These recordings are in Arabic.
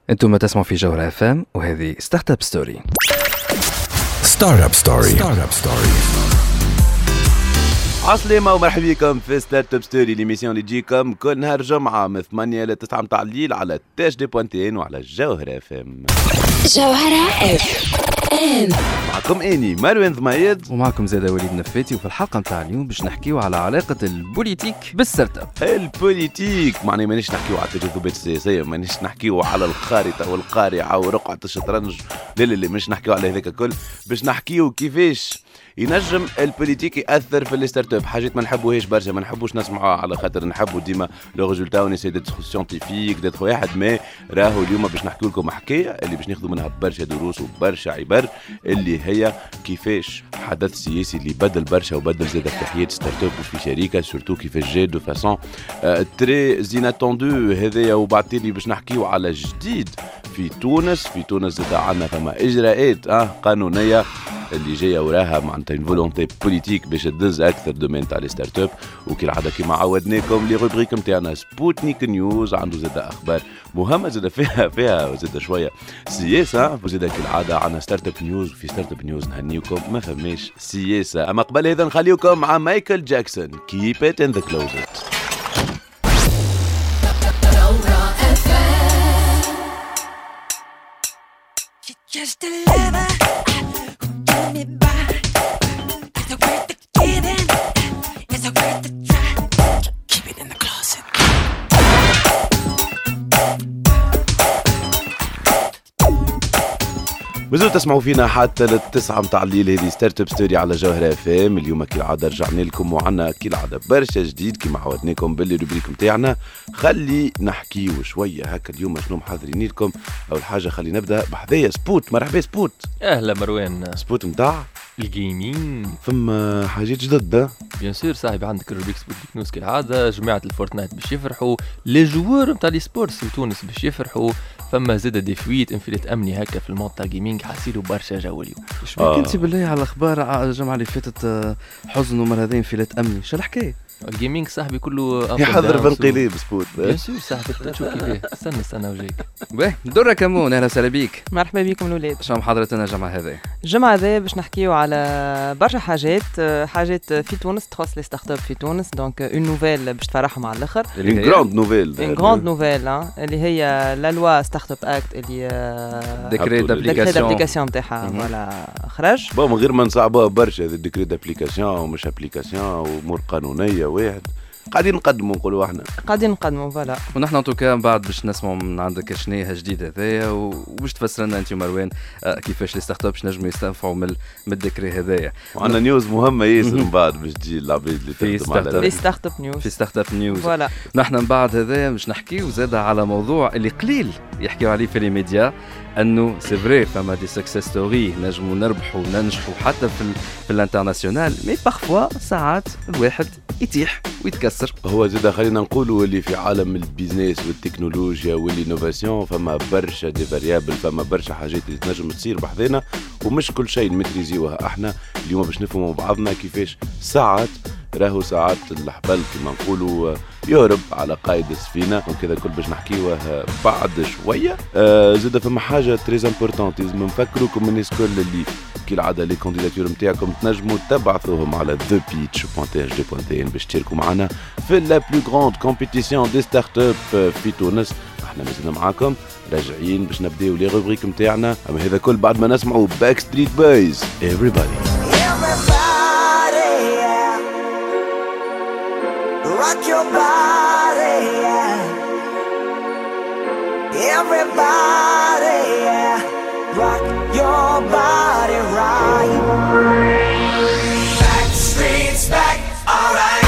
انتم تسمعوا في جوهرة FM وهذه ستارت اب ستوري. ستارت اب ستوري. عسلامة ومرحبا بكم في ستارت اب ستوري، ليميسيون اللي تجيكم كل نهار جمعة من 8 ل 9 متاع الليل على تاج دي بوانتين وعلى جوهرة FM. جوهرة FM معكم اني مروان ضمايد ومعكم زاد وليد نفاتي، وفي الحلقة متاع اليوم باش نحكيو على علاقة البوليتيك بالستارت اب. البوليتيك معني مانيش نحكيو على التجاذبات السياسية، مانيش نحكيو على الخارطة والقارعة ورقعة الشطرنج، لا مش نحكيو على هذاك الكل، باش نحكيو كيفاش ينجم البوليتيك يأثر في الستارت اب. حاجات ما نحبوهاش برشا، ما نحبوش نسمعوها على خاطر نحبوا ديما لو ريزولتا ونسي ديتر سيانتيفيك ديتر واحد. ما راهو اليوم باش نحكي لكم حكايه اللي باش ناخذوا منها برشا دروس وبرشا عبر، اللي هي كيفاش حدث سياسي اللي بدل برشا وبدل زاد في حياه ستارت اب وفي شركه سورتو كيفاش جا دو فاسون تري زيناتوندو هذايا. وبعدين باش نحكيو على جديد في تونس. في تونس زاد عندنا فما اجراءات قانونيه اللي جايه وراها معناتها اون فولونتي بوليتيك باش تدز اكثر دومين تاع لي ستارت اب. وكالعاده كيما عودناكم لي روبريك نتاعنا سبوتنيك نيوز عنده زاد اخبار مهمه زاد فيها زاد شويه سياسه، وزاد كالعاده عندنا ستارت اب نيوز. في ستارت اب نيوز نهنيكم ما فماش سياسه. اما قبل هذا نخليكم مع مايكل جاكسون كيب ات ان ذا كلوزت. Just a lover who do me by. It's a worth the giving. It's a worth the try. Keep it in the closet. مازلتوا تسمعوا فينا حتى للتسعة متاع الليل. هذه ستارت اب ستوري على جوهرة FM. اليوم كالعادة رجعنا لكم وعنا كالعادة برشا جديد كما عودناكم باللي روبريك متاعنا. خلي نحكيو شوية هكا اليوم شنو محضرين لكم. أول حاجة خلي نبدأ بحذايا سبوت. مرحبا سبوت. اهلا مروان. سبوت متاع الجيمين فما حاجات جدد بيان سور صاحبي. عندك الروبيك سبوت نيوز كالعادة. جماعة الفورتنايت باش يفرحوا، لي جوور نتاع لي سبورتس في تونس باش يفرحوا. فما زاد دي فويت انفلات امني هكا في المود تاع جيمنج. حاسيلو برشا جو اليوم. شبيك انت بالله على الاخبار الجمعة اللي فاتت حزن ومر هذين انفلات امني؟ شو الحكايه؟ الجيمنج صاحبي كله يحضر بانقلاب سبوت. بيان سور صاحبي. تشوف كيفاه. استنى وجايك. باهي درة كمون، اهلا وسهلا بيك. مرحبا بكم الاولاد. شنو محاضرتنا الجمعة هذه؟ الجمعة هذه باش نحكيو على برشا حاجات في تونس تخص لي ستارت اب في تونس. دونك اون نوفيل باش تفرحهم على الاخر. اون غراند نوفيل. اون غراند نوفيل اللي هي لا لوا ستارت اب اكت اللي ديكري دابليكاسيون نتاعها فوالا خرج. من غير ما نصعبوها برشا هذا الديكري دابليكاسيون ومش ابليكاسيون وامور قانونيه واحد قاعدين نقدموا نقولوا احنا فوالا. ونحن ان توكا بعد باش نسمعوا من عندك شنو جديد هذايا وباش تفسر لنا انت ومروان كيفاش لي ستارت اب نجموا يستنفعوا من الذكرى هذايا. وعندنا نيوز مهمه ياسر من بعد باش تجي العباد اللي تخدم على لي ستارت اب نيوز. في ستارت اب نيوز فوالا. نحن من بعد هذايا باش نحكيو زاد على موضوع اللي قليل يحكيوا عليه في لي ميديا، انه سي فري فما دي سكسس ستوري نجموا نربحوا وننجحوا حتى في الانترناسيونال، مي بارفوا ساعات الواحد يتيح ويتكسر. هو زاد خلينا نقولوا اللي في عالم البيزنس والتكنولوجيا والانوفاسيون فما برشا دي فاريابل، فما برشا حاجات اللي تنجم تصير بحذنا ومش كل شيء نمتريزيوها احنا. اليوم باش نفهموا بعضنا كيفاش ساعات الحبل كما نقولوا يهرب على قائد السفينه. وكذا كل باش نحكيوه بعد شويه. زاد فما حاجه تريز امبورطونت لازم نفكروكم الناس كل اللي كالعاده لي كانديداتور نتاعكم تنجموا تبعثوهم على thepitch.tg.tn باش تشاركوا معنا في لا بلو غراند كومبيتيسيون دي ستارت اب في تونس. احنا مازلنا معاكم راجعين باش نبداو لي روبريك نتاعنا. اما هذا كل بعد ما نسمعوا باك ستريت بويز everybody. Rock your body, yeah. Everybody, yeah. Rock your body right. Back streets back, alright.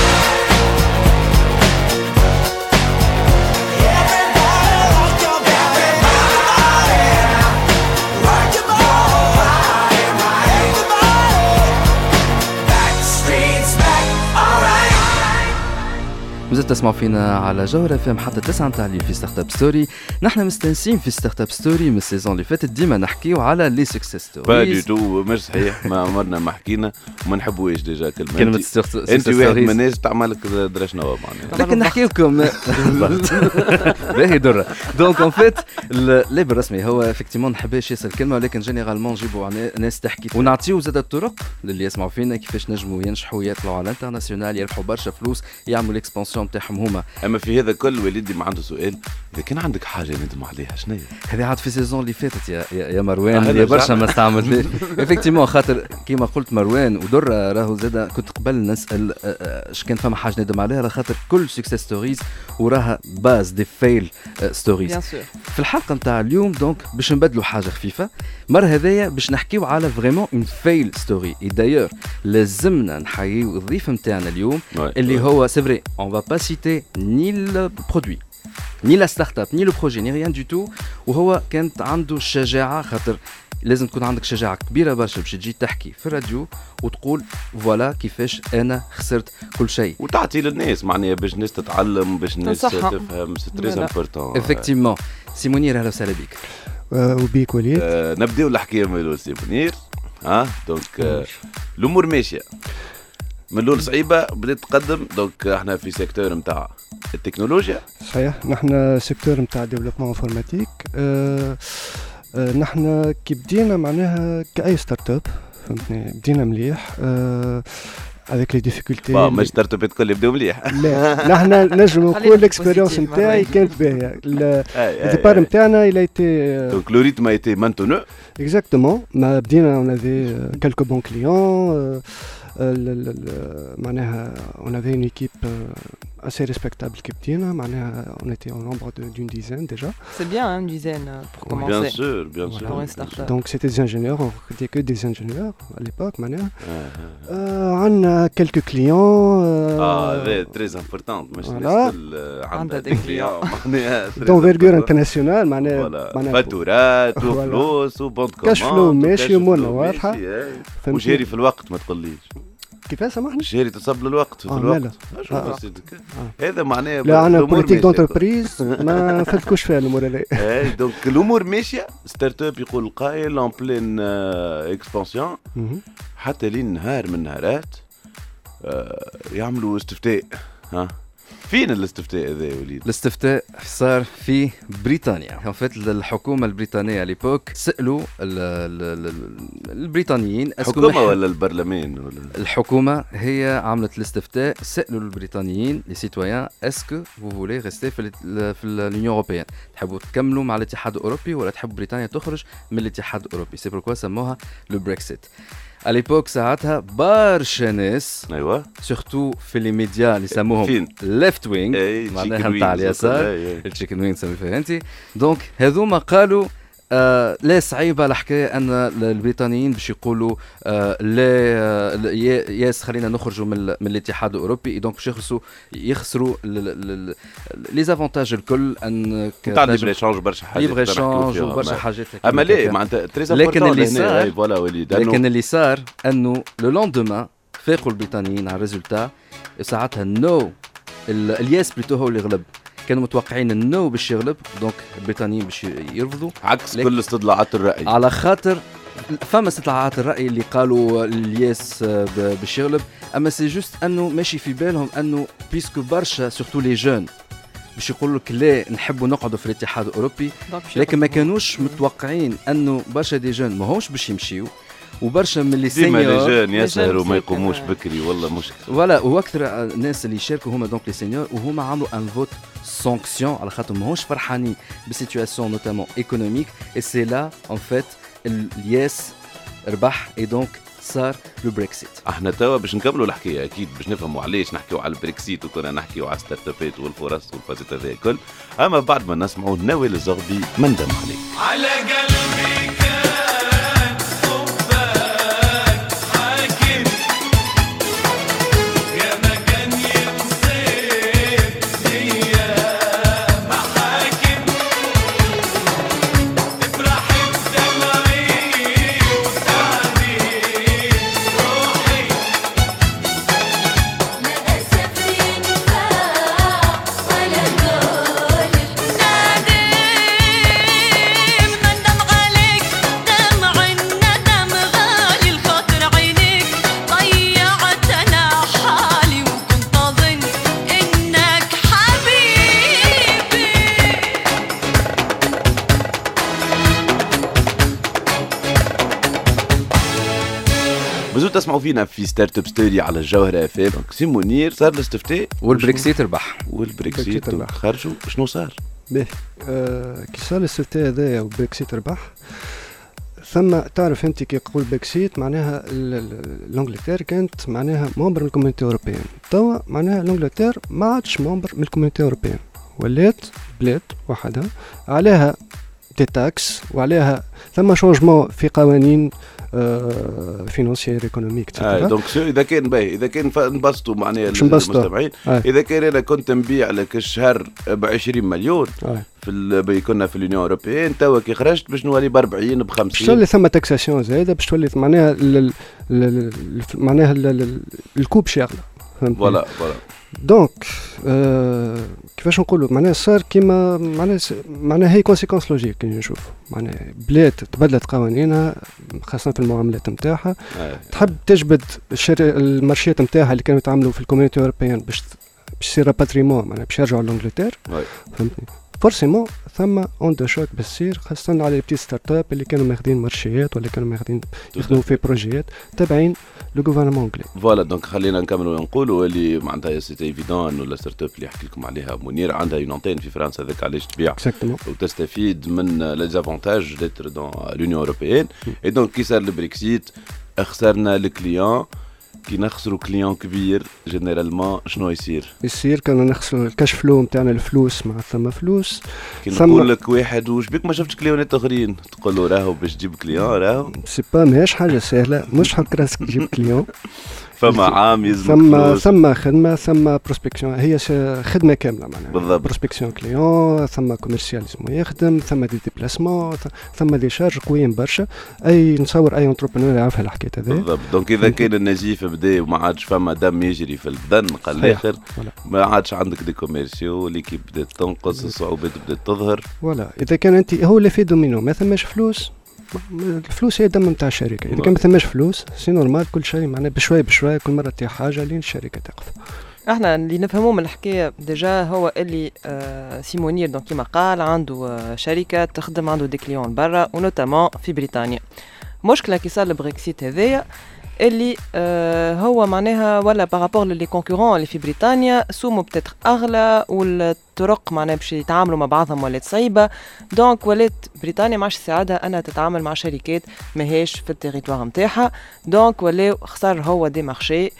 Everybody, rock your body. Everybody, rock your body right. Everybody, back streets back, alright. مازلت تسمعوا فينا على جوهرة FM حتى 9 متاع الليل في ستارت اب ستوري. نحن مستانسين في ستارت اب ستوري من السيزون اللي فاتت، ديما نحكيو على لي سكسس ستوريز. با دي تو مش صحيح، ما عمرنا ما حكينا وما نحبوش ديجا كلمة انت واحد من الناس تعمل لك درش نوا معناها، لكن نحكي لكم باهي درة. دونك اون فيت الليبل الرسمي هو افكتيمون نحبش ياسر الكلمة، ولكن جينيرالمون نجيبوا ناس تحكي ونعطيو زاد الطرق للي يسمعوا فينا كيفاش نجموا ينجحوا يطلعوا على الانترناسيونال، يربحوا برشا فلوس، يعملوا الاكسبانسيون تاعهم هما. اما في هذا كل وليدي ما عنده سؤال، اذا كان عندك حاجه ندم عليها شنو هي؟ هذه عاد في السيزون اللي فاتت يا مروان، يا برشا ما استعملت افكتيمون، خاطر كيما قلت مروان ودر راهو زاد كنت قبل نسال اش كان فما حاجه ندم عليها، على خاطر كل سكسس ستوريز وراها باز دي فيل ستوريز. في الحلقه نتاع اليوم دونك باش نبدلوا حاجه خفيفه، مره هذايا باش نحكيو على فريمون اون فيل ستوري. اي دايور لازمنا نحييو الضيف نتاعنا اليوم اللي هو سي فري اون فا با سيتي ني البرودوي ني لا ستارت اب ني لو بروجي ني ريان دو تو، وهو كانت عنده الشجاعه، خاطر لازم تكون عندك شجاعه كبيره برشا باش تجي تحكي في الراديو وتقول فوالا كيفاش انا خسرت كل شيء، وتعطي للناس معناها باش الناس تتعلم، باش الناس تفهم. سي تري امبورطون افكتيمون. سي منير، اهلا وسهلا بك. وبيك وليد. نبداو الحكايه من الاول سي منير. دونك الامور ماشيه من الاول صعيبه، بدات تقدم. دونك احنا في سيكتور نتاع التكنولوجيا. صحيح، نحن سيكتور نتاع ديفلوبمون انفورماتيك. نحن كي بدينا معناها كأي ستارت اب، فهمتني، بدينا مليح avec les difficultés. مش ستارت اب الكل يبداو مليح. لا، نحن نجم نقول الاكسبيريونس نتاعي كانت باهيه. الديبار نتاعنا il a été donc le rythme a été maintenu. Exactement. ما بدينا on avait quelques bons clients. معناها on avait une équipe assez respectable qui بدينا، معناها on était au nombre d'une dizaine déjà. C'est bien une dizaine pour commencer. Bien sûr, bien sûr. Pour une start-up. Donc c'était des ingénieurs, on recrutait que des ingénieurs à l'époque معناها. عندنا quelques clients. très important. مش عندنا des clients معناها d'envergure internationale معناها فاتورات وفلوس وبوند كوموند. كاش فلو ماشي ومنا واضحة. وجاري في الوقت ما تقوليش. كيفاش سامحني؟ جاري تصب للوقت في الوقت. هذا معناه لا، انا بوليتيك دونتربريز ما نفلتكوش فيها الامور هذه. دونك الامور ماشيه. ستارت اب يقول القائل اون بلين اكسبانسيون، حتى لين نهار من النهارات يعملوا استفتاء. فين الاستفتاء هذا يا وليد؟ الاستفتاء صار في بريطانيا. ان فيت الحكومه البريطانيه ليبوك سالوا البريطانيين، الحكومه ولا البرلمان ولا الحكومه هي عملت الاستفتاء، سالوا البريطانيين لي سيتويان اسكو فو فولي ريستي في لونيون اوروبيان، تحبوا تكملوا مع الاتحاد الاوروبي ولا تحبوا بريطانيا تخرج من الاتحاد الاوروبي؟ سي بوركوا سموها لو بريكسيت. اليبوك ساعتها برشا ناس، ايوه، سورتو في لي ميديا اللي سموهم ليفت وينغ، معناها نتاع اليسار، التشيكن وينغ تسمي فيها انت. دونك هذوما قالوا لا صعيبه الحكايه ان البريطانيين باش يقولوا لا ياس خلينا نخرجوا من الاتحاد الاوروبي، دونك باش يخسروا لي زافونتاج الكل، ان تاع ليبر ايشانج برشا حاجات، ليبر ايشانج وبرشا حاجات. اما لا معناتها تري امبورطون. لكن اللي صار انه لو لوندومان فاقوا البريطانيين على الريزولتا، ساعتها النو الياس بلوتو هو اللي غلب. كانوا متوقعين النو باش يغلب، دونك البريطانيين باش يرفضوا عكس كل استطلاعات الرأي، على خاطر فما استطلاعات الرأي اللي قالوا الياس باش يغلب. اما سي جوست انه ماشي في بالهم انه بيسكو برشا سورتو لي جون باش يقولوا لك لا نحبوا نقعدوا في الاتحاد الاوروبي، لكن ما كانوش متوقعين انه برشا دي جون ما همش باش يمشيو، وبرشا من اللي سينيور ديما لي جون يسهروا ما يقوموش بكري والله مشكل. ولا واكثر الناس اللي يشاركوا هما دونك لي سينيور، وهما عملوا ان فوت سانكسيون على خاطر ماهوش فرحانين بسيتواسيون نوتامون ايكونوميك، اي سي لا ان فيت الياس ربح، اي دونك صار لو بريكسيت. احنا توا باش نكملوا الحكايه اكيد باش نفهموا علاش نحكيوا على البريكسيت وكنا نحكيوا على ستارت ابات والفرص والفازات هذا الكل. اما بعد ما نسمعوا نوال الزغبي من دم عليك على قلبي كان حبك حاكم يا مكان ينصيب هي محاكم افرحي بدمعي وسعدي روحي ما اسف ينفع بزو تسمعوا فينا في ستارت اب ستوري على الجوهرة اف ام. سي منير صار الاستفتاء والبريكسيت ربح. والبريكسيت ربح. خرجوا شنو صار؟ باهي كي صار الاستفتاء هذايا وبريكسيت ربح، ثم تعرف انت كي يقول بريكسيت معناها الانجلتير كانت معناها ممبر من الكوميونتي اوروبيان، توا معناها الانجلتير ما عادش ممبر من الكوميونتي اوروبيان، ولات بلاد وحدها عليها دي تاكس وعليها ثم شونجمون في قوانين فينانسيير ايكونوميك دونك اذا كان باهي اذا كان نبسطوا معناها المستمعين، اذا كان انا كنت نبيع لك الشهر ب20 مليون كنا في اليونيون اوروبيين، توا كي خرجت باش نولي ب40 ب50 باش تولي ثم تاكساسيون زايده، باش تولي معناها معناها الكوب شاغله، فهمتني؟ فوالا دونك كيفاش نقولوا معناها صار كيما معناها هي كونسيكونس لوجيك كي نشوف معناها بلاد تبدلت قوانينها خاصه في المعاملات نتاعها، تحب تجبد المارشيات نتاعها اللي كانوا يتعاملوا في الكوميونتي اوروبيان باش يصير باتريمون معناها باش يرجعوا لانجلتير، فهمتني؟ فورسيمون ثم اون دو شوك بتصير خاصه على البتي ستارت اب اللي كانوا ماخذين مارشيات ولا كانوا ماخذين يخدموا في بروجيات تابعين لو غوفرنمون انجلي. فوالا دونك خلينا نكملوا ونقولوا اللي معناتها سيتي ايفيدون ولا ستارت اب اللي يحكي لكم عليها منير عندها اون انتين في فرنسا، هذاك علاش تبيع وتستفيد من لي زافونتاج ديتر دون لونيون اوروبيين. اي دونك كي صار البريكسيت خسرنا الكليون، كي نخسروا كليون كبير جينيرالمون شنو يصير كنا نخسروا الكاش فلو نتاعنا، الفلوس مع ثم فلوس. كي نقول لك واحد وش بيك ما شفتش كليونات اخرين تقول له راهو باش تجيب كليون راهو سي با ماهيش حاجه سهله، مش حق راسك تجيب كليون فما عام يلزمك ثم خدمه ثم بروسبكسيون، هي خدمه كامله معناها بالضبط. بروسبكسيون كليون ثم كوميرسيال لازم يخدم ثم دي ديبلاسمون ثم دي شارج قويين برشا. اي نصور اي انتربرونور يعرف الحكايه هذه بالضبط. دونك اذا كان النزيف بدا وما عادش فما دم يجري في البدن قال الاخر ما عادش عندك دي كوميرسيو اللي كي بدات تنقص الصعوبات بدات تظهر. ولا اذا كان انت هو اللي في دومينو ما ثماش فلوس، الفلوس هي الدم نتاع الشركه، اذا كان ما ثماش فلوس سي نورمال كل شيء معناه بشوي بشوي كل مره تطيح حاجه لين الشركه تقف. احنا اللي نفهموه من الحكايه ديجا هو اللي سيمونير دونك كيما قال عنده شركه تخدم عنده دي كليون برا ونوتامون في بريطانيا. مشكله كي صار البريكسيت هذايا اللي هو معناها ولا بارابور لي كونكورون اللي في بريطانيا سومو بتاتر اغلى والطرق معناها باش يتعاملوا مع بعضهم ولات صعيبه، دونك ولات بريطانيا ما عادش تساعدها انها تتعامل مع شركات ماهيش في التيريتوار نتاعها، دونك ولاو خسر هو دي مارشي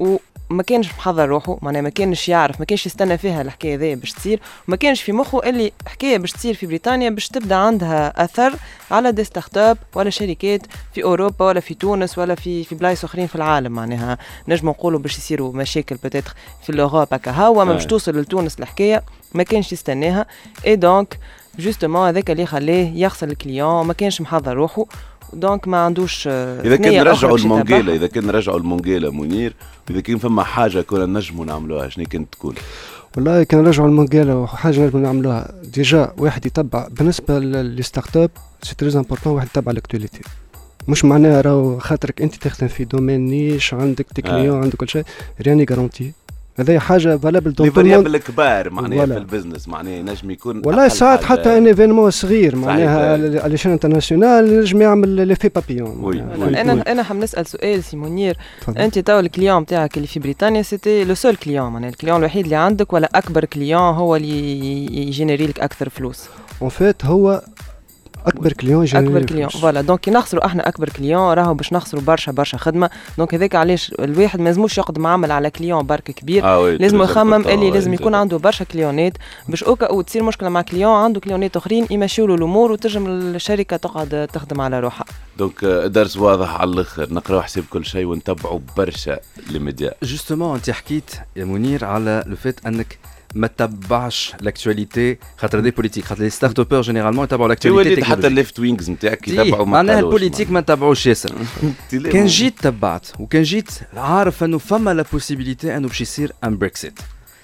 وما كانش محضر روحه معناها ما كانش يعرف ما كانش يستنى فيها الحكايه ذي باش تصير، وما كانش في مخه اللي حكايه باش تصير في بريطانيا باش تبدا عندها اثر على دي ستارت اب ولا شركات في اوروبا ولا في تونس ولا في بلايص اخرين في العالم. معناها نجم نقولوا باش يصيروا مشاكل بتاتر في الاوروبا هكا هوا ما باش توصل لتونس الحكايه ما كانش يستناها. اي دونك جوستومون هذاك اللي خلاه يخسر الكليون ما كانش محضر روحه، دونك ما عندوش اذا كان نرجعوا المونجيلا اذا كان نرجعوا المونجيلا منير، اذا كان فما حاجه كنا نجموا نعملوها شنو كانت تكون؟ والله كان نرجعوا المونجيلا وحاجه نجموا نعملوها ديجا واحد يتبع بالنسبه للستارت اب سي تري امبورطون واحد يتبع الاكتواليتي، مش معناها راهو خاطرك انت تخدم في دومين نيش عندك تكليون عندك كل شيء راني جارونتي، هذه حاجه فالابل دون طول الموند الكبار معناها في البزنس معناها ينجم يكون والله ساعات حتى ان ايفينمون صغير معناها على شان انترناسيونال ينجم يعمل لي في بابيون. انا حنسال سؤال سي منير، انت تو الكليون نتاعك اللي في بريطانيا سيتي لو سول كليون معناها الكليون الوحيد اللي عندك ولا اكبر كليون هو اللي يجينيري لك اكثر فلوس؟ اون فيت هو اكبر كليون اكبر كليون فوالا. دونك كي نخسروا احنا اكبر كليون راهو باش نخسروا برشا خدمه، دونك هذاك علاش الواحد ما لازموش يقدم عمل على كليون برك كبير، لازم يخمم اللي لازم يكون عنده برشا كليونات باش اوكا وتصير مشكله مع كليون عنده كليونات اخرين يمشيوا له الامور وتنجم الشركه تقعد تخدم على روحها. دونك درس واضح على الاخر، نقراو حساب كل شيء ونتبعوا برشا لي ميديا. جوستومون انت حكيت يا منير على لو فيت انك ما تتبعش لاكتواليتي خاطر دي بوليتيك، خاطر لي ستارت ابور جينيرالمون يتبعوا لاكتواليتي حتى الليفت وينجز نتاعك يتبعوا معناها البوليتيك ما نتبعوش ياسر. كان جيت تبعت وكان جيت عارف انه فما لا بوسيبيليتي انه باش يصير ان بريكسيت،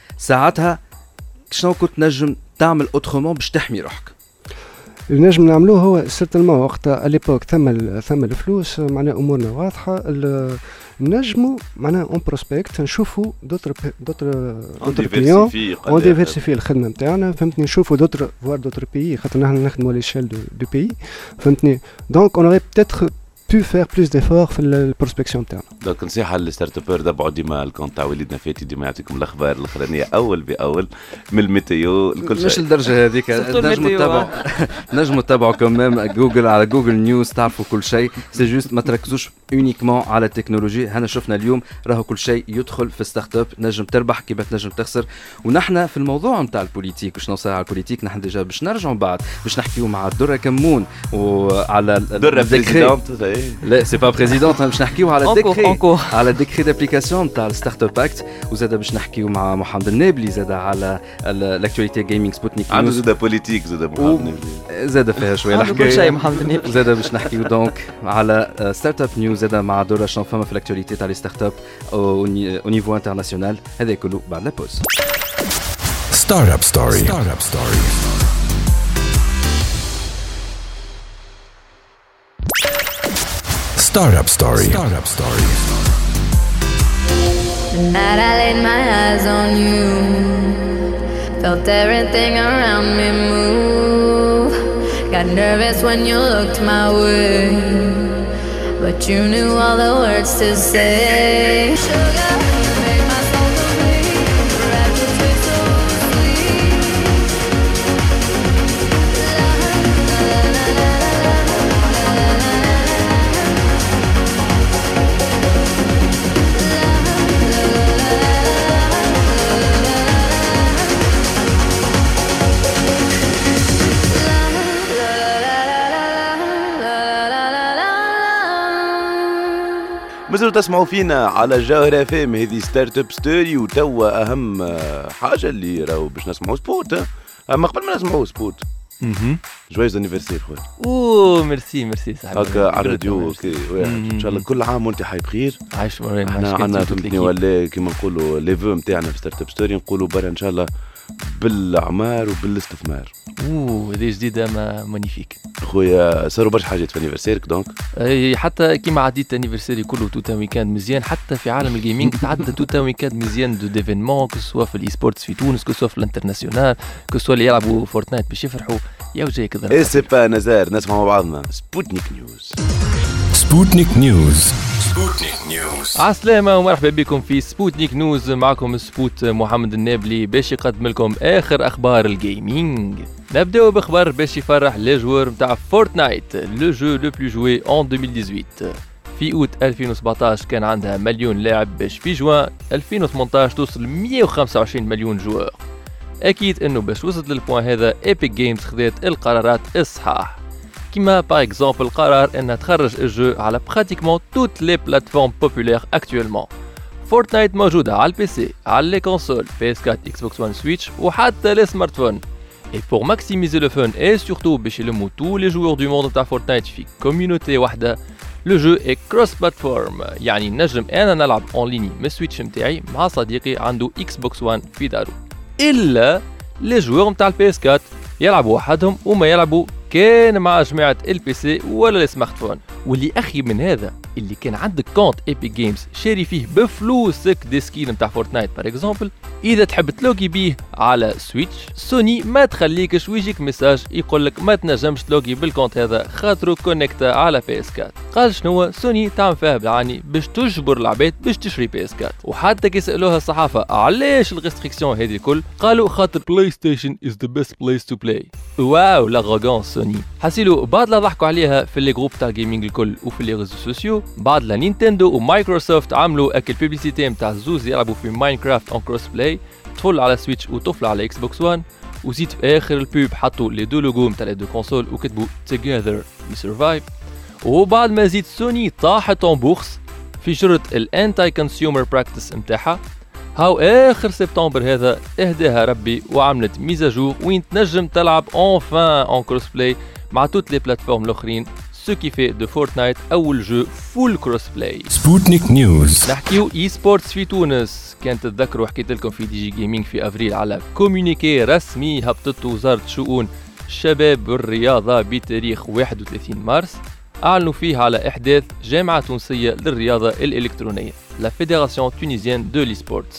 ساعتها شنو كنت نجم تعمل اوترومون باش تحمي روحك؟ اللي نجم نعملوه هو سيرتلمون وقتها اليبوك ثم الفلوس معناها امورنا واضحه، نجموا معناها اون بروسبكت نشوفوا دوتر كليون اون ديفيرسيفي الخدمه نتاعنا، فهمتني؟ نشوفوا دوتر بيي خاطر نحن نخدموا على ليشيل دو بيي، فهمتني؟ دونك اون اوري بتاتر pu faire plus d'efforts في البروسبكسيون تاعنا. دونك نصيحه للستارت ابر دبعوا ديما الكونت تاع وليدنا فاتي ديما يعطيكم الاخبار الاخرانيه اول باول من الميتيو لكل شيء. مش للدرجه هذيك، نجموا تتابعوا كمان جوجل على جوجل نيوز تعرفوا كل شيء. سي جوست ما تركزوش اونيكمون على التكنولوجي. هنا شفنا اليوم راهو كل شيء يدخل في ستارت اب، نجم تربح كيف تنجم تخسر. ونحن في الموضوع نتاع البوليتيك باش نوصل على البوليتيك، نحن ديجا باش نرجعوا بعد باش نحكيو مع درة كمون وعلى درة بريزيدونت. لا سي با بريزيدونت، باش نحكيو على الديكري على الديكري دابليكاسيون تاع الستارت اب اكت. وزاد باش نحكيو مع محمد النابلي زاد على الاكtualité جيمنج سبوتنيك عنده زاد بوليتيك زاد محمد النابلي زاد فيها شويه الحكايه كل شيء محمد النابلي. زاد باش نحكيو دونك على ستارت اب نيوز زاد مع دورة شنو فما في الاكtualité تاع لي ستارت اب او نيفو انترناسيونال. هذا كله بعد لا بوز. ستارت اب ستوري. Startup Story. The night I laid my eyes on you, felt everything around me move. Got nervous when you looked my way, but you knew all the words to say. Sugar, you made my soul complete. Wrapped your taste so sweet. مازالوا تسمعوا فينا على جوهرة فام. هذه ستارت اب ستوري. وتوا اهم حاجه اللي راهو باش نسمعوا سبوت. اما قبل ما نسمعوا سبوت جويز انيفرسير خويا. اوه ميرسي صاحبي. هكا على الراديو اوكي. ان شاء الله كل عام وانت حي بخير. عايش مريم. انا فهمتني ولا كيما نقولوا لي فو نتاعنا في ستارت اب ستوري نقولوا برا ان شاء الله بالاعمار وبالاستثمار. هذه جديده مانيفيك خويا. صاروا برشا حاجات في انيفرسيرك دونك. اي حتى كيما عديت انيفرسيري كله توتا ويكاند مزيان. حتى في عالم الجيمنج تعدى توتا ويكاند مزيان دو ديفينمون كسوا في الاي سبورتس في تونس كسوا في الانترناسيونال كسوا اللي يلعبوا فورتنايت باش يفرحوا. يا وجهي كذا. اي سي با نزار نسمع مع بعضنا سبوتنيك نيوز. عسلامة ومرحبا بكم في سبوتنيك نيوز. معكم سبوت محمد النابلي باش يقدم لكم اخر اخبار الجيمنج. نبداو باخبار باش يفرح لي جوار نتاع فورتنايت لو جو لو بلو جوي ان 2018. في اوت 2017 كان عندها مليون لاعب باش في جوان 2018 توصل 125 مليون جوار. اكيد انه باش وصلت للبوان هذا ايبك جيمز خذت القرارات الصحاح، كيما باغ اكزومبل قرار انها تخرج الجو على براتيكمون توت لي بلاتفورم بوبولير اكطوالمون. فورتنايت موجوده على البي سي، على لي كونسول PS4 Xbox One Switch وحتى لي سمارت فون. Et pour maximiser le fun et surtout باش يلموا tous les joueurs du monde تاع فورتنايت في كوميونيتي واحدة، لو جو اي كروس بلاتفورم، يعني نجم انا نلعب اون ليني من السويتش نتاعي مع صديقي عنده اكس بوكس 1 في دارو، الا لي جوور نتاع البي اس 4 يلعبوا وحدهم وما يلعبوا كان مع جماعة البي سي ولا السمارت فون. واللي اخي من هذا اللي كان عندك كونت ايبك جيمز شاري فيه بفلوسك دي سكين نتاع فورتنايت باغ اكزومبل، اذا تحب تلوغي بيه على سويتش سوني ما تخليكش ويجيك ميساج يقولك ما تنجمش تلوغي بالكونت هذا خاطرو كونيكتا على بي اس 4. قال شنو سوني تعمل فيها بالعاني باش تجبر العباد باش تشري بي اس 4. وحتى كي سالوها الصحافه علاش الريستريكسيون هذه الكل قالوا خاطر بلاي ستيشن از ذا بيست بليس تو بلاي. واو لاغوغونس سوني. حسيلو بعد لا ضحكوا عليها في لي جروب تاع الجيمنج الكل وفي لي ريزو سوسيو، بعد لا نينتندو ومايكروسوفت عملوا اكل بيبليسيتي نتاع زوز يلعبوا في ماينكرافت اون كروس بلاي، طفل على سويتش وطفل على اكس بوكس 1، وزيد في اخر البوب حطوا لي دو لوغو نتاع لي دو كونسول وكتبوا together we survive. وبعد ما زيد سوني طاحت اون بورس في جرة الانتي كونسيومر براكتس نتاعها، هاو اخر سبتمبر هذا اهداها ربي وعملت ميزاجور وين تنجم تلعب اونفان اون كروس بلاي مع توت لي بلاتفورم الاخرين، سو كي في دو فورتنايت اول جو فول كروس بلاي. سبوتنيك نيوز. نحكيو اي سبورتس في تونس. كانت تتذكروا حكيت لكم في دي جي جيمنج في افريل على كومونيكي رسمي هبطت وزارة شؤون الشباب والرياضة بتاريخ 31 مارس، أعلنوا فيه على إحداث جامعة تونسية للرياضة الإلكترونية لا فيدراسيون تونيزيان دو لي سبورتس،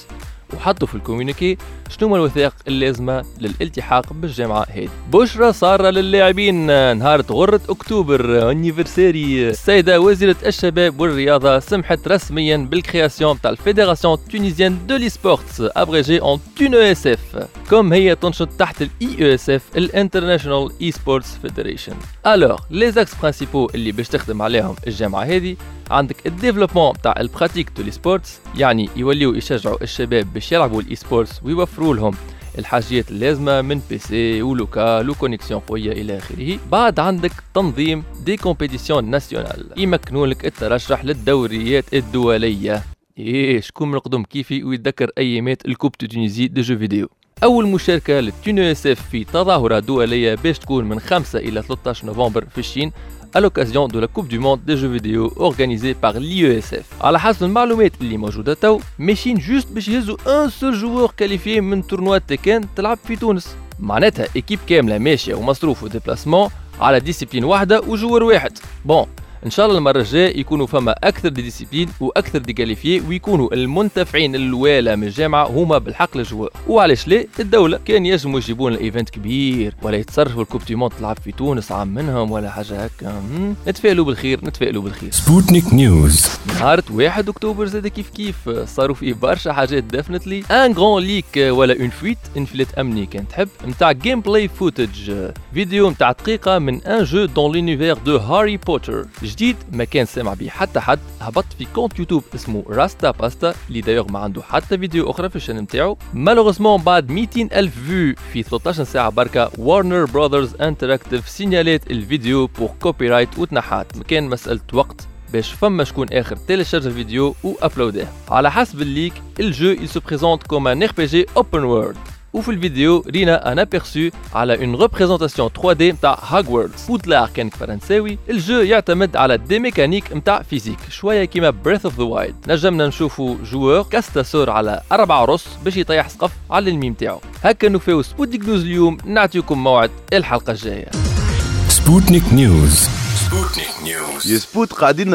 وحطوا في الكوميونيكي شنو الوثائق اللازمة للالتحاق بالجامعة هذه. بشرى صار للاعبين نهار غرة أكتوبر انيفرساري. السيدة وزيرة الشباب والرياضة سمحت رسميا بالكرياسيون تاع الفيدراسيون تونيزيان دو لي سبورتس ابريجي اون TUNESF، كم هي تنشط تحت الEESF الانترناشونال اي سبورتس فيدريشن. الوغ لي زاكس برينسيبو اللي باش تخدم عليهم الجامعة هذه، عندك الديفلوبمون تاع البراتيك دو لي سبورتس، يعني يوليو يشجعوا الشباب باش يلعبوا الاي سبورتس ويوفروا لهم الحاجيات اللازمه من بي سي ولوكال وكونيكسيون قويه الى اخره. بعد عندك تنظيم دي كومبيتيسيون ناسيونال يمكنوا لك الترشح للدوريات الدوليه. شكون من القدم كيفي ويتذكر ايامات الكوب دو تونيزي دو جو فيديو. اول مشاركه للتونيسف في تظاهره دوليه باش تكون من 5 الى 13 نوفمبر في الصين à l'occasion de la Coupe du Monde des jeux vidéo organisée par l'IESF. على حسب المعلومات اللي موجودة تو، ماشيين جوست باش يهزوا ان سول جوور كاليفيي من تورنوا تيكان تلعب في تونس. معناتها ايكيب كاملة ماشية ومصروف وديبلاسمون على ديسيبلين واحدة وجوور واحد. بون ان شاء الله المره الجايه يكونوا فما اكثر دي ديسيبلين واكثر دي كاليفيي، ويكونوا المنتفعين الوالا من الجامعه هما بالحق الجوار. وعلاش لا الدوله كان يجموا يجيبون ايفنت كبير ولا يتصرفوا الكوب دي موند تلعب في تونس عام منهم ولا حاجه هكا. نتفائلوا بالخير نتفائلوا بالخير. سبوتنيك نيوز. نهار 1 اكتوبر زاد كيف صاروا فيه برشا حاجات ديفنتلي. ان غران ليك ولا اون فويت انفلات امني كان تحب نتاع جيم بلاي فوتج، فيديو نتاع دقيقه من ان جو دون لونيفير دو هاري بوتر جديد ما كان سامع به حتى حد. هبط في كونت يوتيوب اسمه راستا باستا اللي دايوغ ما عنده حتى فيديو اخرى في الشان نتاعو. مالوغوزمون بعد 200,000 فيو في 13 ساعه بركه، وارنر براذرز انتراكتيف سينيالات الفيديو بور كوبي رايت وتنحات. كان مساله وقت باش فما شكون اخر تيليشارج الفيديو وابلوداه. على حسب الليك الجو يسو بريزونت كوم ان RPG اوبن وورلد، وفي الفيديو رينا ان ابيرسو على اون ريبريزونطاسيون 3D نتاع هاغوردز بودلار كان فرنساوي. الجو يعتمد على دي ميكانيك نتاع فيزيك شويه كيما بريث اوف ذا وايلد. نجمنا نشوفوا جوور كاستاسور على 4 رص باش يطيح سقف على الميم تاعو. هكا نوفيو سبوتنيك نيوز اليوم، نعطيكم موعد الحلقه الجايه. سبوتنيك نيوز. سبوتنيك نيوز. يا سبوت قاعدين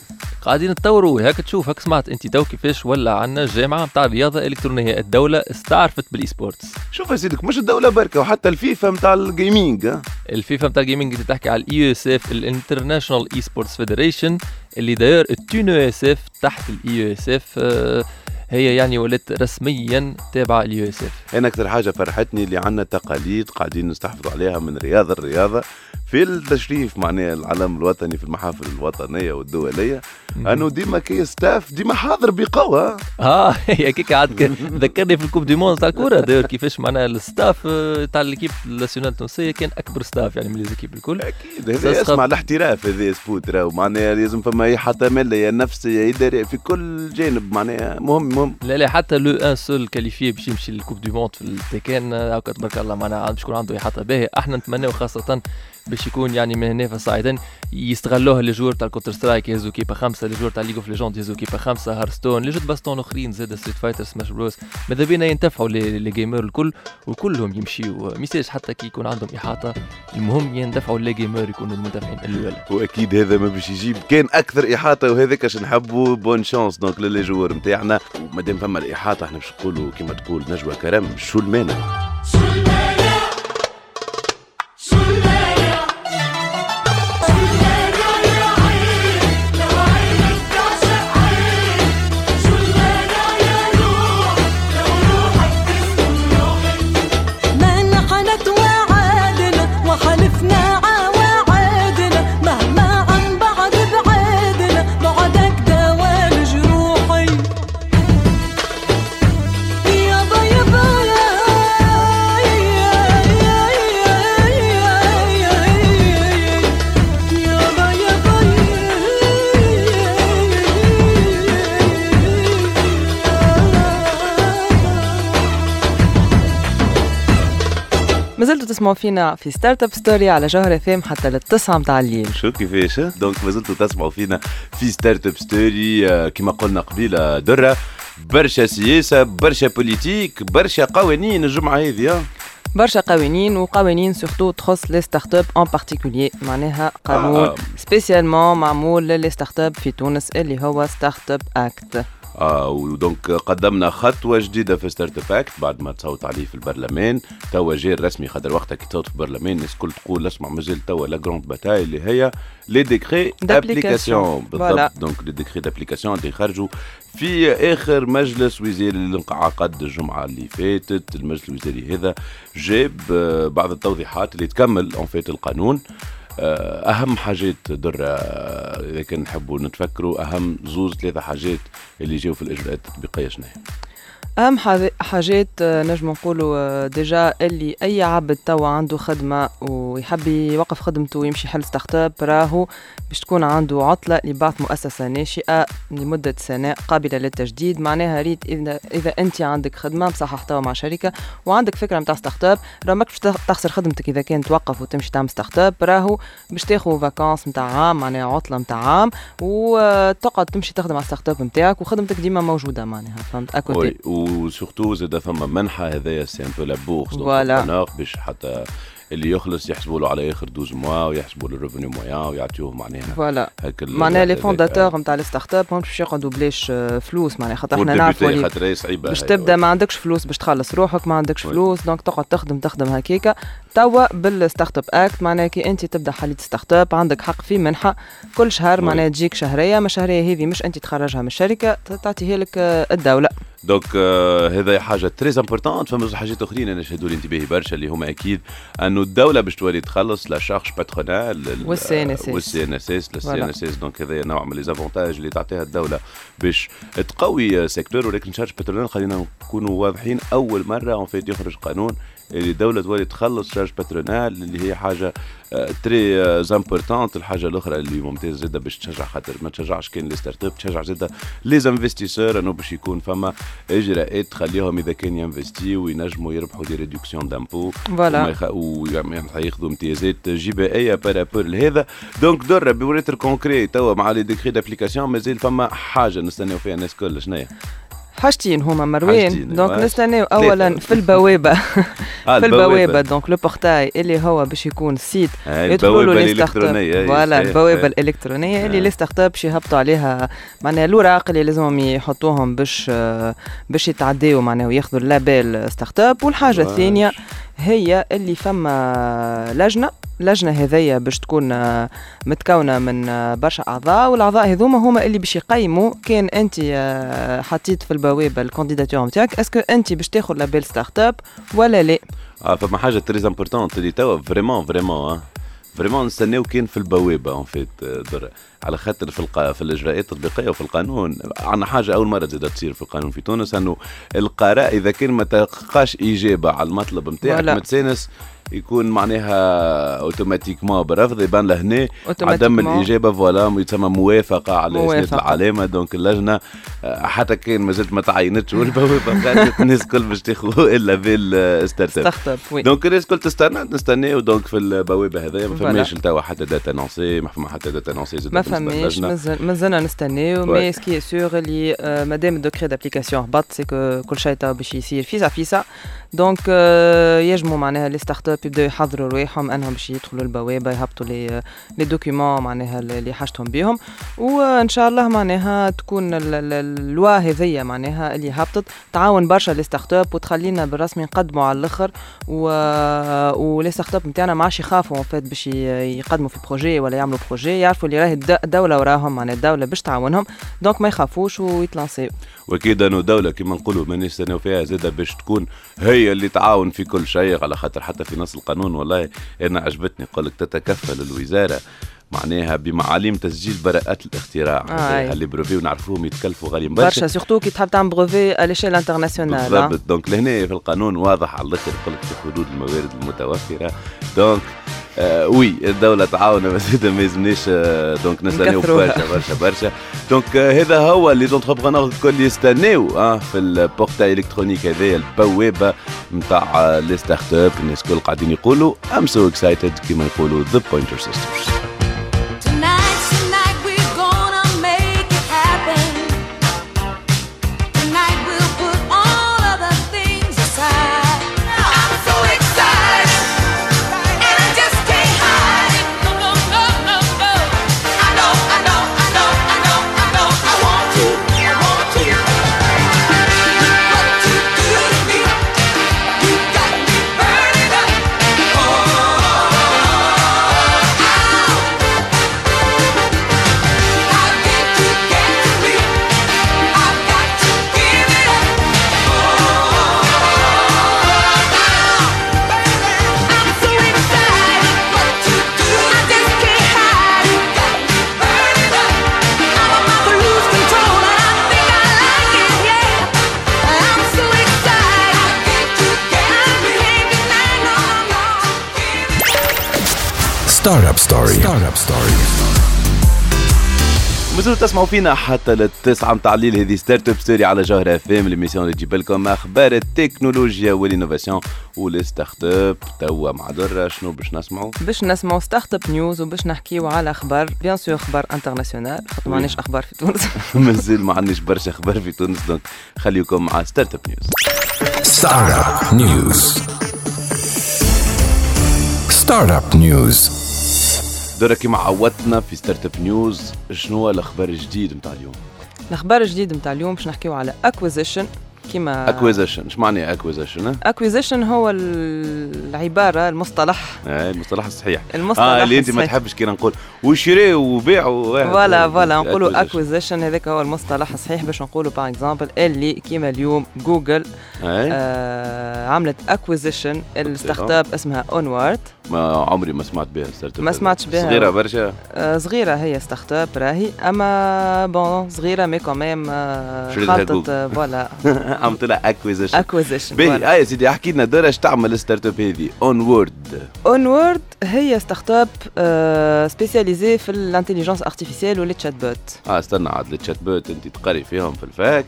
نتطوروا هاك تشوف. هاك سمعت انت تو كيفاش ولا عندنا الجامعه نتاع الرياضه الالكترونيه، الدوله استعرفت بالاي سبورتس. شوف يا سيدك مش الدوله بركه، وحتى الفيفا نتاع الجيمنج. الفيفا نتاع الجيمنج اللي تحكي على الاي اس اف الانترناشونال اي سبورتس فيدريشن اللي داير التونو اس اف تحت الاي اس اف، هي يعني ولات رسميا تابعه الاي اس اف. انا اكثر حاجه فرحتني اللي عندنا تقاليد قاعدين نستحفظوا عليها من الرياضه في التشريف معناها العلم الوطني في المحافل الوطنيه والدوليه، انه ديما كي ستاف ديما حاضر بقوه. هي كيك عاد ذكرني في الكوب دي موند تاع الكره داير كيفاش معناها الستاف تاع ليكيب ناسيونال التونسيه كان اكبر ستاف يعني من ليزيكيب الكل. اكيد هذا اسمع الاحتراف، هذا سبوت راهو معناها لازم فما حتى ماليه نفسيه اداريه في كل جانب معناها مهم. لا حتى لو ان سول كاليفي باش يمشي للكوب دي موند في التيكان هاكا تبارك الله معناها باش يكون عنده احاطه باهيه. احنا نتمناو خاصه باش يكون يعني من هنا فصاعدا يستغلوها لي جور تاع الكونتر سترايك يهزوا كيبا 5، لي جور تاع ليج اوف ليجوند يهزوا كيبا 5، هارستون، لي جود باستون اخرين زاد ستريت فايتر سماش بروس. ماذا بينا ينتفعوا لي جيمر الكل وكلهم يمشيوا، ميساج حتى كي يكون عندهم احاطه المهم يندفعوا لي جيمر يكونوا المنتفعين الاول. واكيد هذا ما باش يجيب كان اكثر احاطه، وهذاك اش نحبوا بون شانس دونك للي جوور نتاعنا. ومادام فما الاحاطه احنا باش نقولوا كيما تقول نجوى كرم شو المانع. مازلتوا تسمعوا فينا في ستارت اب ستوري على جوهر اف ام حتى للتسعة متاع الليل. شو كيفاش دونك مازلتوا تسمعوا فينا في ستارت اب ستوري كما قلنا قبيله درة، برشا سياسه برشا بوليتيك برشا قوانين الجمعه هذه. برشا قوانين سورتو تخص لي ستارت اب ان بارتيكولير، معناها قانون سبيسيالمون معمول للي ستارت اب في تونس اللي هو ستارت اب اكت. ودونك قدمنا خطوه جديده في ستارت اب اكت بعد ما تصوت عليه في البرلمان. توا جاي الرسمي، خاطر وقتها كي تصوت في البرلمان الناس الكل تقول اسمع مازال توا لا جروند باتاي اللي هي لي ديكري دابليكاسيون. بالضبط، دونك لي ديكري دابليكاسيون اللي خرجوا في اخر مجلس وزاري اللي انعقد الجمعه اللي فاتت. المجلس الوزاري هذا جاب بعض التوضيحات اللي تكمل اون فيت القانون. اهم حاجات درة اذا كان نحبوا نتفكروا، اهم زوز ثلاثه حاجات اللي جاوا في الاجراءات التطبيقيه شنو هي؟ اهم حاجات نجم نقولوا ديجا اللي اي عبد توا عنده خدمه ويحب يوقف خدمته ويمشي يحل ستارت اب، راهو باش تكون عنده عطله لبعث مؤسسه ناشئه لمده سنه قابله للتجديد. معناها ريت اذا انت عندك خدمه مصحح توا مع شركه وعندك فكره نتاع ستارت اب، راه ماكش تخسر خدمتك اذا كان توقف وتمشي تعمل ستارت اب، راهو باش تاخذ فاكانس نتاع عام، معناها عطله نتاع عام، وتقعد تمشي تخدم على ستارت اب نتاعك وخدمتك ديما موجوده معناها، فهمت اكوتي. وسورتو زاد فما منحه، هذايا سي ان بو لا بورس باش حتى اللي يخلص يحسبوا له على اخر 12 موا ويحسبوا له الريفوني مويان ويعطيوه معناها فوالا. معناها لي فونداتور نتاع الستارت اب هم باش ياخذوا بلاش فلوس، معناها خاطر احنا نعرفوا اللي باش تبدا ما عندكش فلوس باش تخلص روحك، ما عندكش فلوس دونك تقعد تخدم هكاكا. توا بالستارت اب اكت معناها كي انت تبدا حليت ستارت اب عندك حق في منحه كل شهر، معناها تجيك شهريه، ما شهريه هذه مش انت تخرجها من الشركه، تعطيها لك الدوله. دونك هذا حاجه تري امبورطونت. فما حاجات اخرين انا شهدوا لي انتباهي برشا اللي هما اكيد انه الدوله باش تولي تخلص لا شارج باترونال والسي ان اس. دونك هذا نوع من لي زافونتاج اللي تعطيها الدوله باش تقوي سيكتور. ولكن شارج باترونال خلينا نكونوا واضحين، اول مره اون فيت يخرج قانون اللي الدوله تولي تخلص شارج باترونال اللي هي حاجه تري امبورطونت. الحاجه الاخرى اللي ممتازه جدا باش تشجع، خاطر ما تشجعش كان لي ستارت اب، تشجع جدا لي انفستيسور انه باش يكون فما اجراءات تخليهم اذا كان ينفستي وينجموا يربحوا دي ريدكسيون دامبو وياخذوا امتيازات جبائيه بارابور لهذا. دونك دره بوريتر كونكري توا مع لي ديكري دابليكاسيون مازال فما حاجه نستناو فيها الناس كل شنيا حاجتين هما مروان. دونك نستناو اولا في البوابه في البوابه دونك لو بورتاي اللي هو باش يكون سيت يدخلوا له لي ستارت اب، فوالا البوابه الالكترونيه اللي لي ستارت اب باش يهبطوا عليها معناها الاوراق اللي لازمهم يحطوهم باش يتعداو معناها وياخذوا اللابيل ستارت اب. والحاجه الثانيه هي اللي فما لجنه هذيا باش تكون متكونه من برشا اعضاء، والاعضاء هذوما هما اللي باش يقيموا كان انت حطيت في البوابه الكانديداتور نتاعك اسكو انت باش تاخذ لابيل ستارت اب ولا لا. فما حاجه تري امبورطونت اللي توا فريمون نستناو كان في البوابه اون فيت على خاطر في الاجراءات التطبيقيه وفي القانون عندنا حاجه اول مره زادت تصير في القانون في تونس، انه القراء اذا كان ما تلقاش اجابه على المطلب نتاعك متسانس يكون معناها اوتوماتيكمون برفض، يبان له هنا عدم الاجابه فوالا يتسمى موافقه على اسناد العلامه. دونك اللجنه حتى كان مازالت ما تعينتش والبوابه خرجت الناس الكل باش تاخذوا الا بالستارت اب. دونك الناس الكل نستناو دونك في البوابه هذايا ما فماش توا حتى داتا انونسي، ما فما حتى داتا انونسي ما فماش، مازلنا نستناو. مي سكي سور اللي مادام الدوكري دابليكاسيون هبط سي كل شيء توا باش يصير فيسا. دونك يجموا معناها لي ستارت اب يبداو يحضروا رواحهم انهم باش يدخلوا البوابه يهبطوا لي دوكيومون معناها اللي حاجتهم بهم، وان شاء الله معناها تكون اللوا هذيا معناها اللي هبطت تعاون برشا لي ستارت اب وتخلينا بالرسمي نقدموا على الاخر. ولي ستارت اب نتاعنا ما عادش يخافوا فات باش يقدموا في بروجي ولا يعملوا بروجي، يعرفوا اللي راهي الدوله وراهم معناها الدوله باش تعاونهم، دونك ما يخافوش ويتلانسيو. واكيد انه دوله كما نقولوا ما نستناو فيها زاده باش تكون هي اللي تعاون في كل شيء، على خاطر حتى في نص القانون والله انا عجبتني قالك تتكفل الوزاره معناها بمعاليم تسجيل براءات الاختراع اللي بروفي ونعرفوهم يتكلفوا غاليين برشا سورتو كي تحب تعمل بروفي الاشيل انترناسيونال. بالضبط. دونك لهنا في القانون واضح على الاخر يقولك في حدود الموارد المتوفره. دونك وي الدولة تعاون بس ما يلزمنيش دونك نستناو برشا. دونك هذا هو اللي زونتربرونور الكل يستناو في البورتاي الكترونيك هذايا البوابة نتاع لي ستارت اب. الناس الكل قاعدين يقولوا I'm so excited كما يقولوا The Pointer Sisters. Startup Story. مازلتوا تسمعوا فينا حتى للتسعة متاع الليل. هذه ستارت اب ستوري على جوهرة اف ام، ليميسيون اللي تجيب لكم اخبار التكنولوجيا والانوفاسيون والستارت اب. توا مع درة شنو باش نسمعوا؟ باش نسمعوا ستارت اب نيوز وباش نحكيوا على اخبار بيان سور اخبار انترناسيونال، خاطر ما عندناش اخبار في تونس. مازال ما عندناش برشا اخبار في تونس، دونك خليكم مع ستارت اب نيوز. ستارت اب نيوز. درة كيما عودتنا في ستارت اب نيوز، شنو هو الاخبار الجديد نتاع اليوم؟ الاخبار الجديد نتاع اليوم باش نحكيوا على اكويزيشن. كيما اكويزيشن، اش معنى اكويزيشن؟ اكويزيشن هو العباره المصطلح المصطلح الصحيح، المصطلح اللي انت ما تحبش كي نقول وشري وبيع فوالا نقولوا اكويزيشن. هذاك هو المصطلح الصحيح باش نقولوا باغ اكزامبل اللي كيما اليوم جوجل عملت اكويزيشن الستارت اب اسمها اونورد. ما عمري ما سمعت بها ستارت اب، ما سمعتش بها، صغيره برشا. صغيره هي ستارت اب راهي، اما بون صغيره مي كوميم خلطت فوالا عملت لها اكويزيشن. باهي يا سيدي احكي لنا دور اش تعمل الستارت اب هذه اونورد. هي ستارت اب سبيسياليزي في الانتيليجنس ارتيفيسيال والتشات بوت. استنى عاد التشات بوت انت تقري فيهم في الفاك،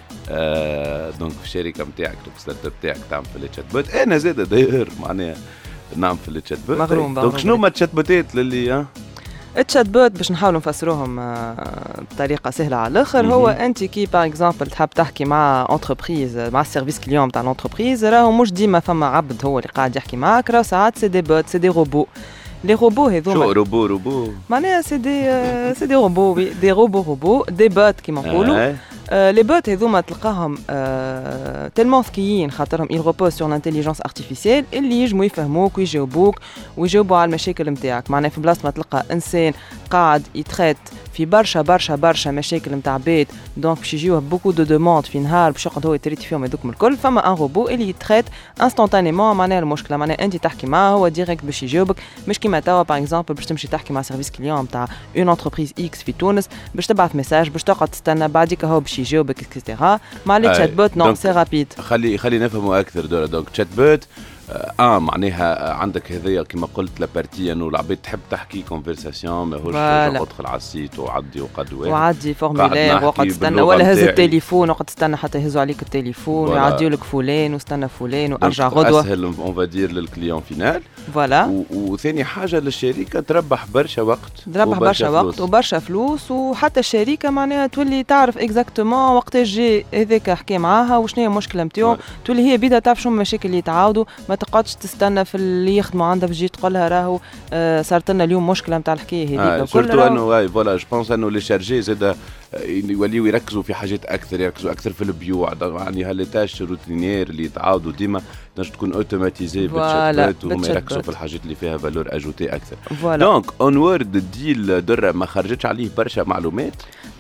دونك في الشركه نتاعك الستارت اب نتاعك تعمل في التشات بوت. انا زاد داير معناها نعمل في التشات بوت. مغروم دونك شنو هما التشات بوتات للي التشات بوت باش نحاولوا نفسروهم بطريقه سهله على الاخر. هو انت كي باغ اكزامبل تحب تحكي مع انتربريز، مع السيرفيس كليون تاع الانتربريز، راهو مش ديما فما عبد هو اللي قاعد يحكي معاك، راهو ساعات سي دي بوت، سي دي روبو. لي روبو هذوما شو روبو معناها سي دي روبو، دي روبو دي بوت كيما نقولوا. لي بوت هذوما تلقاهم تلمون ذكيين، خاطرهم ils reposent sur l'intelligence artificielle اللي يجموا يفهموك ويجاوبوك ويجاوبوا على المشاكل نتاعك. معناها في بلاصه ما تلقى انسان قاعد يتريت في برشا مشاكل نتاع بيت، دونك باش يجيوه بوكو دو دوموند في نهار باش يقعد هو يتريت فيهم هذوكم الكل، فما ان روبو اللي يتريت انستانتانيمون. معناها المشكله معناها انت تحكي معاه هو ديريكت باش يجاوبك، مش كيما توا باغ اكزامبل باش تمشي تحكي مع سيرفيس كليون نتاع اون انتربريز اكس في تونس باش تبعث ميساج باش تقعد تستنى بعديك هو باش يجاوبك اكسترا. مع لي تشات بوت نو سي رابيد. خلي نفهموا اكثر دورة. دونك تشات بوت معناها عندك هذيا كما قلت لابارتي انه العباد تحب تحكي كونفرساسيون، ماهوش ادخل على السيت وعدي وعدي فورمولير وقعد تستنى، ولا هز التليفون وقعد تستنى حتى يهزوا عليك التليفون ويعديوا لك فلان واستنى فلان وارجع غدوه. اسهل اون فادير للكليون فينال. فوالا. وثاني حاجه للشركه تربح برشا وقت، وبرشا فلوس، وحتى الشركه معناها تولي تعرف اكزاكتومون وقتاش جي هذاك حكي معاها وشنو هي المشكله نتاعو، تولي هي بيدا تعرف شنو المشاكل اللي يتعاودوا، ما تقعدش تستنى في اللي يخدموا عندها باش تجي تقول لها راهو صارت لنا اليوم مشكله نتاع الحكايه هذيك. سورتو انه فوالا جو بونس انه لي شارجي زاد يوليو يركزوا في حاجات اكثر، يركزوا اكثر في البيوع، يعني هالتاش روتينير اللي يتعاودوا ديما تنجم تكون اوتوماتيزي بالشات وهم يركزوا في الحاجات اللي فيها فالور اجوتي اكثر. دونك اونورد الديل درة ما خرجتش عليه برشا معلومات،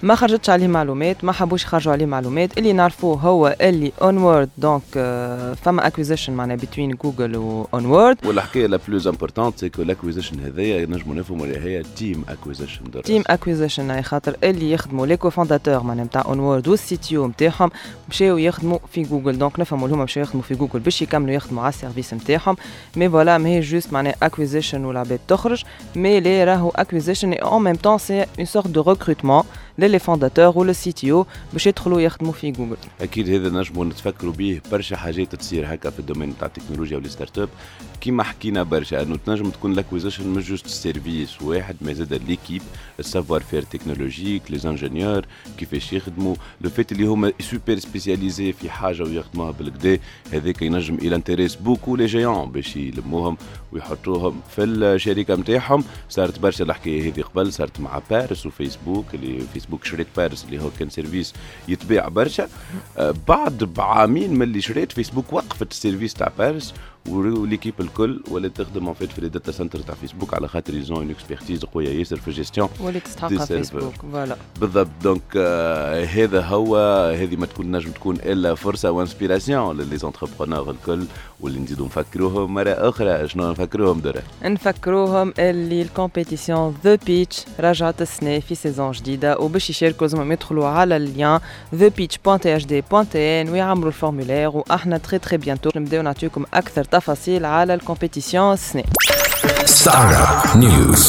ما حبوش يخرجوا عليه معلومات. اللي نعرفوه هو اللي اونورد دونك فما اكويزيشن معناها بين جوجل واونورد. والحكايه لا بلوز امبورطونت سي كو لاكويزيشن هذايا نجموا نفهموا اللي هي تيم اكويزيشن اي خاطر اللي يخدموا لي كوفونداتور معناها نتاع اونورد والسيتيو نتاعهم مشاو يخدموا في جوجل، دونك نفهموا اللي هما مشاو يخدموا في جوجل باش يكملوا يخدموا على السيرفيس نتاعهم. مي فوالا ما هي جوست معناها اكويزيشن والعباد تخرج، مي لي راهو اكويزيشن اي اون ميم طون سي اون سورت دو ريكروتمون للي فونداتور ولا سي تي او باش يدخلوا يخدموا في جوجل. اكيد هذا نجموا نتفكروا به برشا حاجات تصير هكا في الدومين تاع التكنولوجيا والستارت اب. كيما حكينا برشا انه تنجم تكون لاكويزيشن مش جوست سيرفيس واحد، ما زاد ليكيب، السافوار فير تكنولوجيك، لي انجينيور كيفاش يخدموا، لو فيت اللي هما سوبر سبيسياليزي في حاجه ويخدموها بالكدا، هذاك ينجم الى انتريس بوكو لي جيون باش يلموهم ويحطوهم في الشركه نتاعهم. صارت برشا الحكايه هذه قبل، صارت مع بارس وفيسبوك، اللي فيسبوك شريت بارس اللي هو كان سيرفيس يتباع برشا. بعد بعامين من اللي شريت فيسبوك وقفت السيرفيس تاع بارس وليكيب الكل ولا تخدم في الداتا سنتر تاع فيسبوك على خاطر يزون اون اكسبيرتيز قويه ياسر في الجيستيون واللي تستحقها فيسبوك. فوالا بالضبط. دونك هذا هو، هذه ما تكون نجم تكون الا فرصه وانسبيراسيون للي زونتربرونور الكل، واللي نزيدوا نفكروهم مره اخرى. شنو نفكروهم درا؟ نفكروهم اللي الكومبيتيسيون ذا بيتش رجعت السنه في سيزون جديده، وباش يشاركوا لازم يدخلوا على اللين thepitch.hd.n ويعملوا الفورمولير، واحنا تري بيانتو نبداو نعطيكم اكثر تفاصيل على الكومبيتيسيون السنه. Startup News.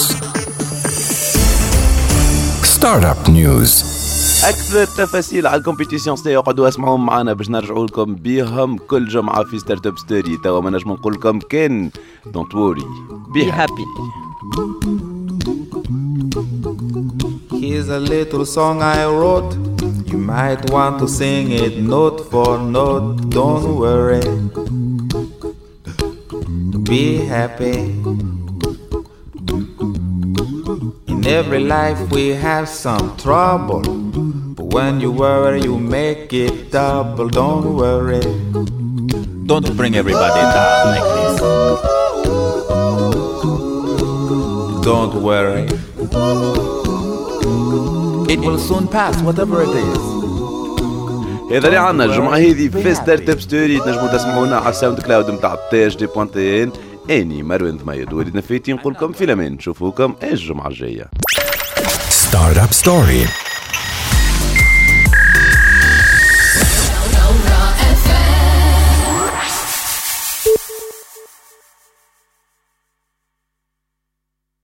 Startup News. اكثر تفاصيل على الكومبيتيسيون اقعدوا اسمعوهم معنا باش نرجعوا لكم بيهم كل جمعه في ستارت اب ستوري. توا ما نجم نقول لكم كان دونت ووري بي هابي. Here's a little song I wrote. You might want to sing it note for note. Don't worry, be happy. In every life we have some trouble, but when you worry you make it double. Don't worry, don't bring everybody down like this. Don't worry, it will soon pass whatever it is. هذا اللي عنا الجمعة هذه في ستارت اب ستوري. تنجموا تسمعونا على الساوند كلاود نتاع THD.in. اني مروان ضميد وليد نفيتي نقول لكم في الامان. نشوفوكم الجمعة الجاية. ستارت اب ستوري.